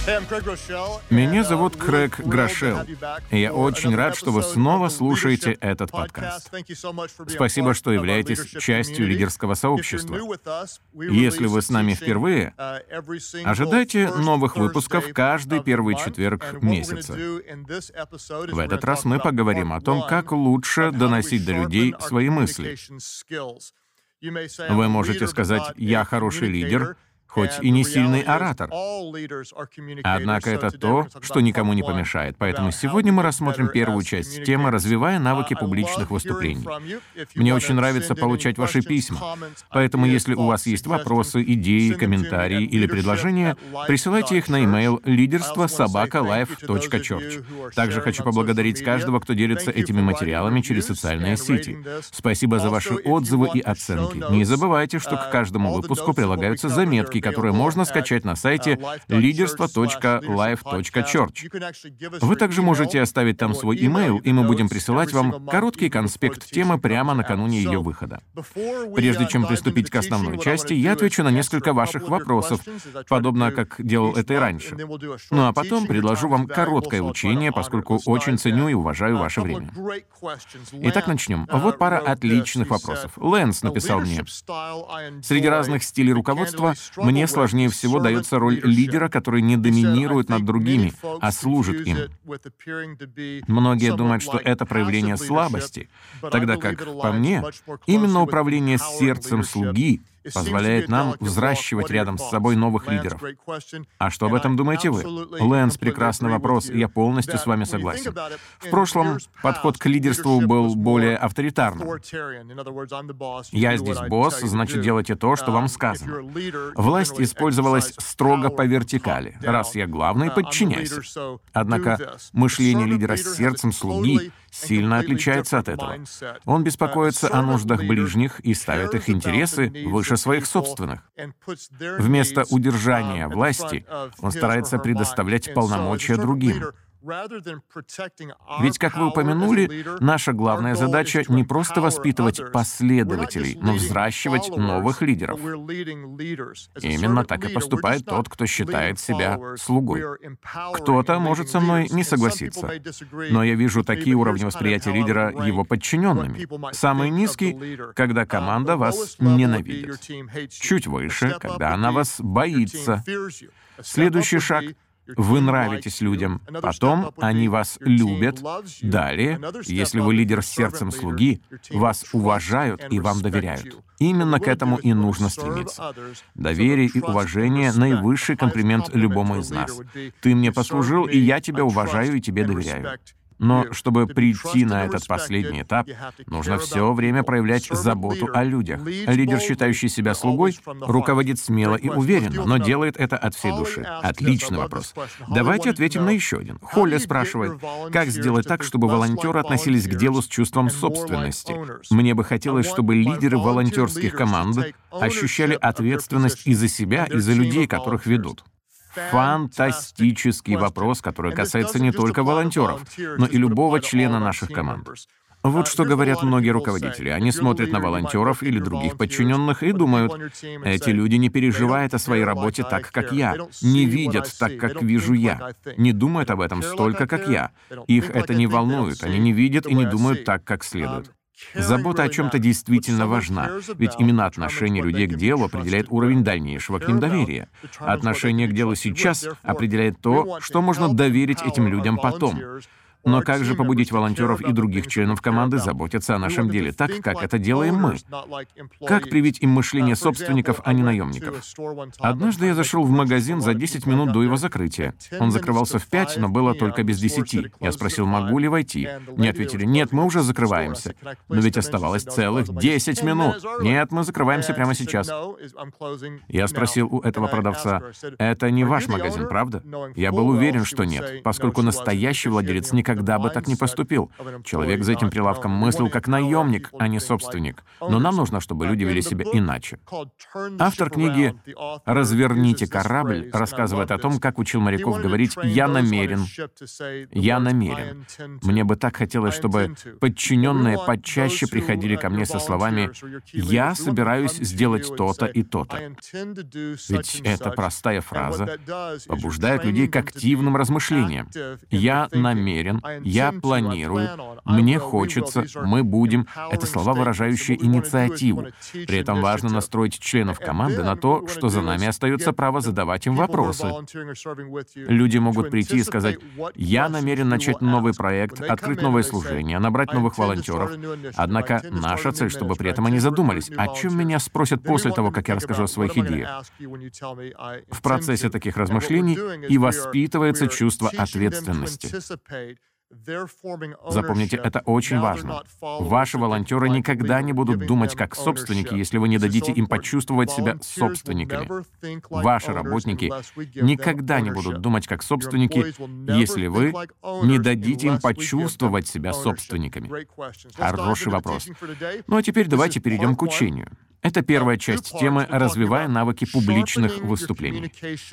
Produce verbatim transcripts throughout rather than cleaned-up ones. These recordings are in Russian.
Меня зовут Крэг Грошелл, и я очень рад, что вы снова слушаете этот подкаст. Спасибо, что являетесь частью лидерского сообщества. Если вы с нами впервые, ожидайте новых выпусков каждый первый четверг месяца. В этот раз мы поговорим о том, как лучше доносить до людей свои мысли. Вы можете сказать «я хороший лидер», хоть и не сильный оратор. Однако это то, что никому не помешает. Поэтому сегодня мы рассмотрим первую часть темы «Развивая навыки публичных выступлений». Мне очень нравится получать ваши письма. Поэтому, если у вас есть вопросы, идеи, комментарии или предложения, присылайте их на e-mail лидерство собака лайф точка чёрч. Также хочу поблагодарить каждого, кто делится этими материалами через социальные сети. Спасибо за ваши отзывы и оценки. Не забывайте, что к каждому выпуску прилагаются заметки, которые можно скачать на сайте лидерство точка лайф точка чёрч. Вы также можете оставить там свой имейл, и мы будем присылать вам короткий конспект темы прямо накануне ее выхода. Прежде чем приступить к основной части, я отвечу на несколько ваших вопросов, подобно как делал это и раньше. Ну а потом предложу вам короткое учение, поскольку очень ценю и уважаю ваше время. Итак, начнем. Вот пара отличных вопросов. Лэнс написал мне: «Среди разных стилей руководства мне сложнее всего дается роль лидера, который не доминирует над другими, а служит им. Многие думают, что это проявление слабости, тогда как, по мне, именно управление сердцем слуги позволяет нам взращивать рядом с собой новых лидеров». А что об этом думаете вы? Лэнс, прекрасный вопрос, и я полностью с вами согласен. В прошлом подход к лидерству был более авторитарным. «Я здесь босс, значит, делайте то, что вам сказано». Власть использовалась строго по вертикали. Раз я главный, подчиняйся. Однако мышление лидера с сердцем слуги сильно отличается от этого. Он беспокоится о нуждах ближних и ставит их интересы выше своих собственных. Вместо удержания власти он старается предоставлять полномочия другим. Ведь, как вы упомянули, наша главная задача не просто воспитывать последователей, но взращивать новых лидеров. Именно так и поступает тот, кто считает себя слугой. Кто-то может со мной не согласиться, но я вижу такие уровни восприятия лидера его подчиненными. Самый низкий — когда команда вас ненавидит. Чуть выше — когда она вас боится. Следующий шаг — вы нравитесь людям, потом они вас любят. Далее, если вы лидер с сердцем слуги, вас уважают и вам доверяют. Именно к этому и нужно стремиться. Доверие и уважение — наивысший комплимент любому из нас. Ты мне послужил, и я тебя уважаю и тебе доверяю. Но чтобы прийти на этот последний этап, нужно все время проявлять заботу о людях. Лидер, считающий себя слугой, руководит смело и уверенно, но делает это от всей души. Отличный вопрос. Давайте ответим на еще один. Холли спрашивает: как сделать так, чтобы волонтеры относились к делу с чувством собственности? Мне бы хотелось, чтобы лидеры волонтерских команд ощущали ответственность и за себя, и за людей, которых ведут. Фантастический вопрос, который касается не только волонтеров, но и любого члена наших команд. Вот что говорят многие руководители. Они смотрят на волонтеров или других подчиненных и думают: эти люди не переживают о своей работе так, как я, не видят так, как вижу я, не думают об этом столько, как я. Их это не волнует, они не видят и не думают так, как следует. Забота о чем-то действительно важна, ведь именно отношение людей к делу определяет уровень дальнейшего к ним доверия. Отношение к делу сейчас определяет то, что можно доверить этим людям потом. Но как же побудить волонтеров и других членов команды заботиться о нашем деле так, как это делаем мы? Как привить им мышление собственников, а не наемников? Однажды я зашел в магазин за десять минут до его закрытия. Он закрывался в пять, но было только без десяти. Я спросил, могу ли войти. Мне ответили: нет, мы уже закрываемся. Но ведь оставалось целых десять минут. Нет, мы закрываемся прямо сейчас. Я спросил у этого продавца: это не ваш магазин, правда? Я был уверен, что нет, поскольку настоящий владелец никогда никогда бы так не поступил. Человек за этим прилавком мыслил как наемник, а не собственник. Но нам нужно, чтобы люди вели себя иначе. Автор книги «Разверните корабль» рассказывает о том, как учил моряков говорить «я намерен», «я намерен». Мне бы так хотелось, чтобы подчиненные почаще приходили ко мне со словами «я собираюсь сделать то-то и то-то». Ведь эта простая фраза побуждает людей к активным размышлениям. «Я намерен», «я планирую», «мне хочется», «мы будем» — это слова, выражающие инициативу. При этом важно настроить членов команды на то, что за нами остается право задавать им вопросы. Люди могут прийти и сказать: «Я намерен начать новый проект, открыть новое служение, набрать новых волонтеров». Однако наша цель, чтобы при этом они задумались, о чем меня спросят после того, как я расскажу о своих идеях. В процессе таких размышлений и воспитывается чувство ответственности. Запомните, это очень важно. Ваши волонтеры никогда не будут думать как собственники, если вы не дадите им почувствовать себя собственниками. Ваши работники никогда не будут думать как собственники, если вы не дадите им почувствовать себя собственниками. Хороший вопрос. Ну а теперь давайте перейдем к учению. Это первая часть темы «Развивая навыки публичных выступлений».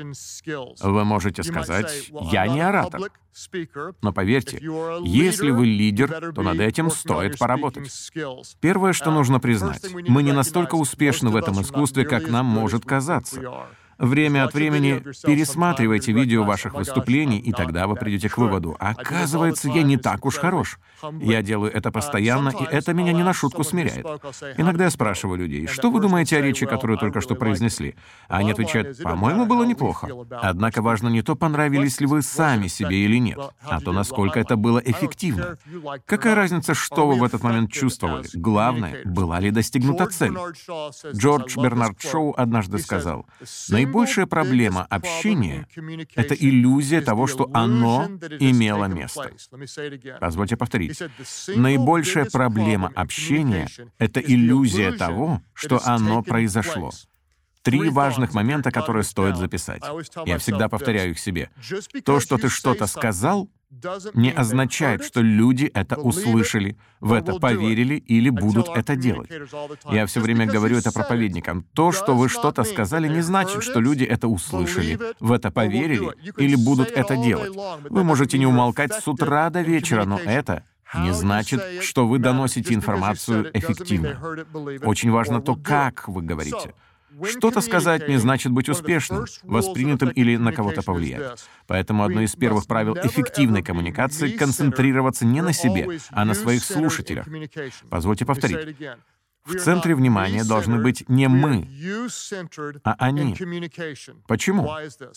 Вы можете сказать: «Я не оратор». Но поверьте, если вы лидер, то над этим стоит поработать. Первое, что нужно признать, мы не настолько успешны в этом искусстве, как нам может казаться. Время от времени пересматривайте видео ваших выступлений, и тогда вы придете к выводу: оказывается, я не так уж хорош. Я делаю это постоянно, и это меня не на шутку смиряет. Иногда я спрашиваю людей: что вы думаете о речи, которую только что произнесли? А они отвечают: по-моему, было неплохо. Однако важно не то, понравились ли вы сами себе или нет, а то, насколько это было эффективно. Какая разница, что вы в этот момент чувствовали? Главное, была ли достигнута цель. Джордж Бернард Шоу однажды сказал: наибольшая проблема общения — это иллюзия того, что оно имело место. Позвольте повторить. Наибольшая проблема общения — это иллюзия того, что оно произошло. Три важных момента, которые стоит записать. Я всегда повторяю их себе. То, что ты что-то сказал, не означает, что люди это услышали, в это поверили или будут это делать. Я все время говорю это проповедникам. То, что вы что-то сказали, не значит, что люди это услышали, в это поверили или будут это делать. Вы можете не умолкать с утра до вечера, но это не значит, что вы доносите информацию эффективно. Очень важно то, как вы говорите. Что-то сказать не значит быть успешным, воспринятым или на кого-то повлиять. Поэтому одно из первых правил эффективной коммуникации — концентрироваться не на себе, а на своих слушателях. Позвольте повторить. В центре внимания должны быть не мы, а они. Почему?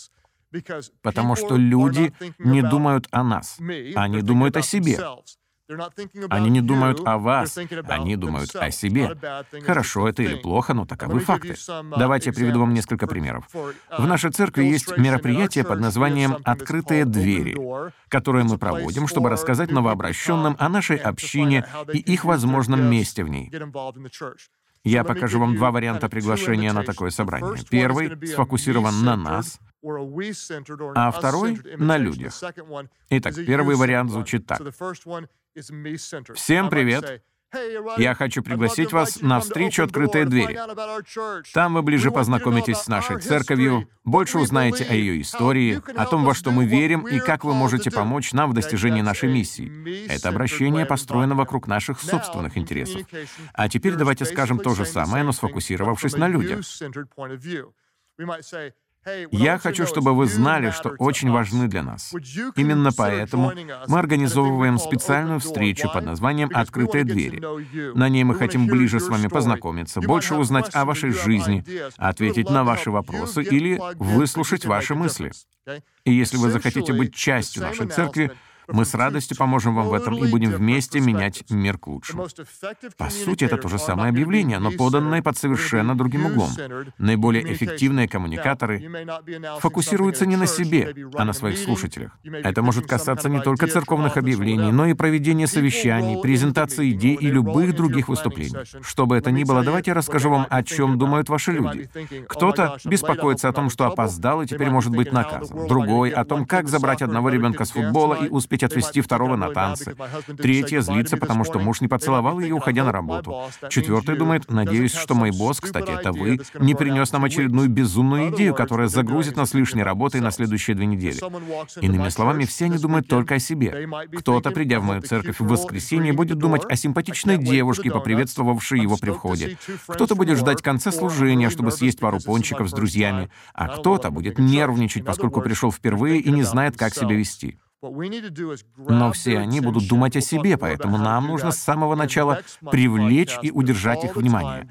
Потому что люди не думают о нас, они думают о себе. Они не думают о вас, они думают о себе. Хорошо это или плохо, но таковы факты. Давайте я приведу вам несколько примеров. В нашей церкви есть мероприятие под названием «Открытые двери», которое мы проводим, чтобы рассказать новообращенным о нашей общине и их возможном месте в ней. Я покажу вам два варианта приглашения на такое собрание. Первый сфокусирован на нас, а второй — на людях. Итак, первый вариант звучит так. Всем привет! Я хочу пригласить вас на встречу «Открытые двери». Там вы ближе познакомитесь с нашей церковью, больше узнаете о ее истории, о том, во что мы верим и как вы можете помочь нам в достижении нашей миссии. Это обращение построено вокруг наших собственных интересов. А теперь давайте скажем то же самое, но сфокусировавшись на людях. Я хочу, чтобы вы знали, что очень важны для нас. Именно поэтому мы организовываем специальную встречу под названием «Открытые двери». На ней мы хотим ближе с вами познакомиться, больше узнать о вашей жизни, ответить на ваши вопросы или выслушать ваши мысли. И если вы захотите быть частью нашей церкви, мы с радостью поможем вам в этом и будем вместе менять мир к лучшему. По сути, это то же самое объявление, но поданное под совершенно другим углом. Наиболее эффективные коммуникаторы фокусируются не на себе, а на своих слушателях. Это может касаться не только церковных объявлений, но и проведения совещаний, презентации идей и любых других выступлений. Что бы это ни было, давайте я расскажу вам, о чем думают ваши люди. Кто-то беспокоится о том, что опоздал и теперь может быть наказан. Другой — о том, как забрать одного ребенка с футбола и успеть ведь отвезти второго на танцы. Третья злится, потому что муж не поцеловал ее, уходя на работу. Четвертая думает, надеюсь, что мой босс, кстати, это вы, не принес нам очередную безумную идею, которая загрузит нас лишней работой на следующие две недели. Иными словами, все они думают только о себе. Кто-то, придя в мою церковь в воскресенье, будет думать о симпатичной девушке, поприветствовавшей его при входе. Кто-то будет ждать конца служения, чтобы съесть пару пончиков с друзьями, а кто-то будет нервничать, поскольку пришел впервые и не знает, как себя вести. Но все они будут думать о себе, поэтому нам нужно с самого начала привлечь и удержать их внимание.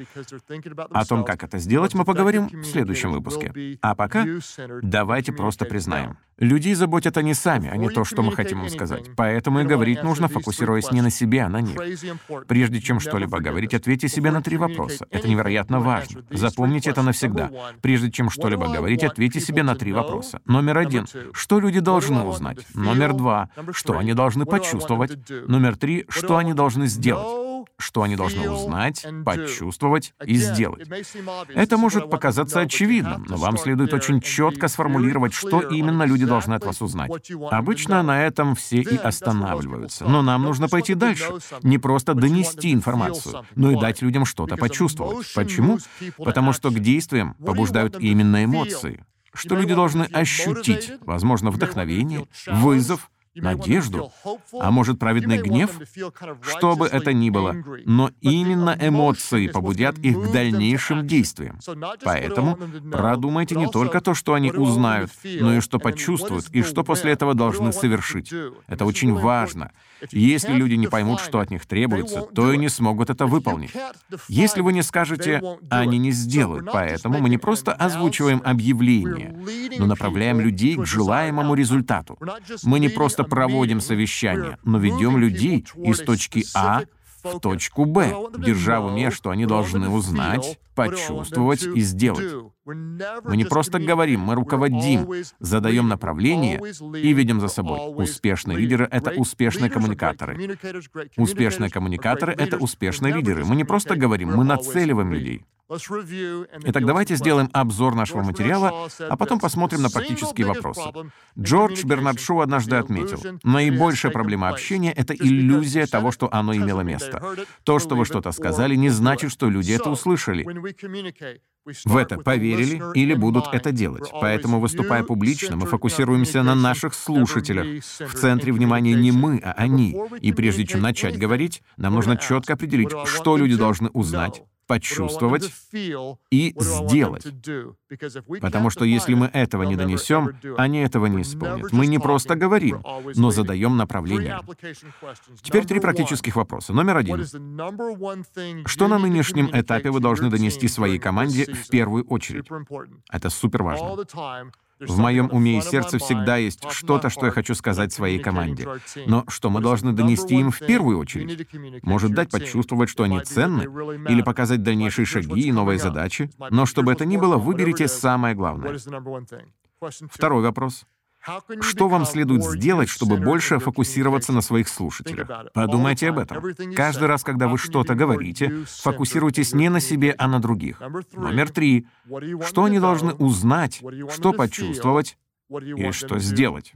О том, как это сделать, мы поговорим в следующем выпуске. А пока давайте просто признаем. Людей заботят они сами, а не то, что мы хотим им сказать. Поэтому и говорить нужно, фокусируясь не на себе, а на них. Прежде чем что-либо говорить, ответьте себе на три вопроса. Это невероятно важно. Запомните это навсегда. Прежде чем что-либо говорить, ответьте себе на три вопроса. Номер один. Что люди должны узнать? Номер два. Что они должны почувствовать? Номер три. Что они должны сделать? Что они должны узнать, почувствовать и сделать. Это может показаться очевидным, но вам следует очень четко сформулировать, что именно люди должны от вас узнать. Обычно на этом все и останавливаются. Но нам нужно пойти дальше. Не просто донести информацию, но и дать людям что-то почувствовать. Почему? Потому что к действиям побуждают именно эмоции. Что люди должны ощутить? Возможно, вдохновение, вызов, надежду, а может, праведный гнев? Что бы это ни было, но именно эмоции побудят их к дальнейшим действиям. Поэтому продумайте не только то, что они узнают, но и что почувствуют, и что после этого должны совершить. Это очень важно. Если люди не поймут, что от них требуется, то и не смогут это выполнить. Если вы не скажете, они не сделают. Поэтому мы не просто озвучиваем объявление, но направляем людей к желаемому результату. Мы не просто проводим совещание, но ведем людей из точки А в точку Б, держа в уме, что они должны узнать, почувствовать и сделать. Мы не просто говорим, мы руководим, задаем направление и ведем за собой. Успешные лидеры — это успешные коммуникаторы. Успешные коммуникаторы — это успешные лидеры. Мы не просто говорим, мы нацеливаем людей. Итак, давайте сделаем обзор нашего материала, а потом посмотрим на практические вопросы. Джордж Бернард Шоу однажды отметил, наибольшая проблема общения — это иллюзия того, что оно имело место. То, что вы что-то сказали, не значит, что люди это услышали. В это поверили или будут это делать. Поэтому, выступая публично, мы фокусируемся на наших слушателях. В центре внимания не мы, а они. И прежде чем начать говорить, нам нужно четко определить, что люди должны узнать, почувствовать и сделать. Потому что если мы этого не донесем, они этого не исполнят. Мы не просто говорим, но задаем направление. Теперь три практических вопроса. Номер один. Что на нынешнем этапе вы должны донести своей команде в первую очередь? Это супер важно. В моем уме и сердце всегда есть что-то, что я хочу сказать своей команде. Но что мы должны донести им в первую очередь? Может, дать почувствовать, что они ценны? Или показать дальнейшие шаги и новые задачи? Но чтобы это ни было, выберите самое главное. Второй вопрос. Что вам следует сделать, чтобы больше фокусироваться на своих слушателях? Подумайте об этом. Каждый раз, когда вы что-то говорите, фокусируйтесь не на себе, а на других. Номер три. Что они должны узнать, что почувствовать и что сделать?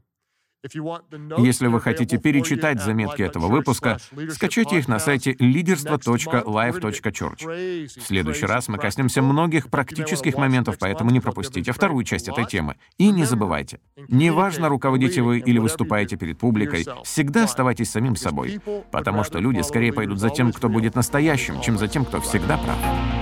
Если вы хотите перечитать заметки этого выпуска, скачайте их на сайте лидерство точка лайф точка чёрч. В следующий раз мы коснемся многих практических моментов, поэтому не пропустите вторую часть этой темы. И не забывайте, неважно, руководите вы или выступаете перед публикой, всегда оставайтесь самим собой, потому что люди скорее пойдут за тем, кто будет настоящим, чем за тем, кто всегда прав.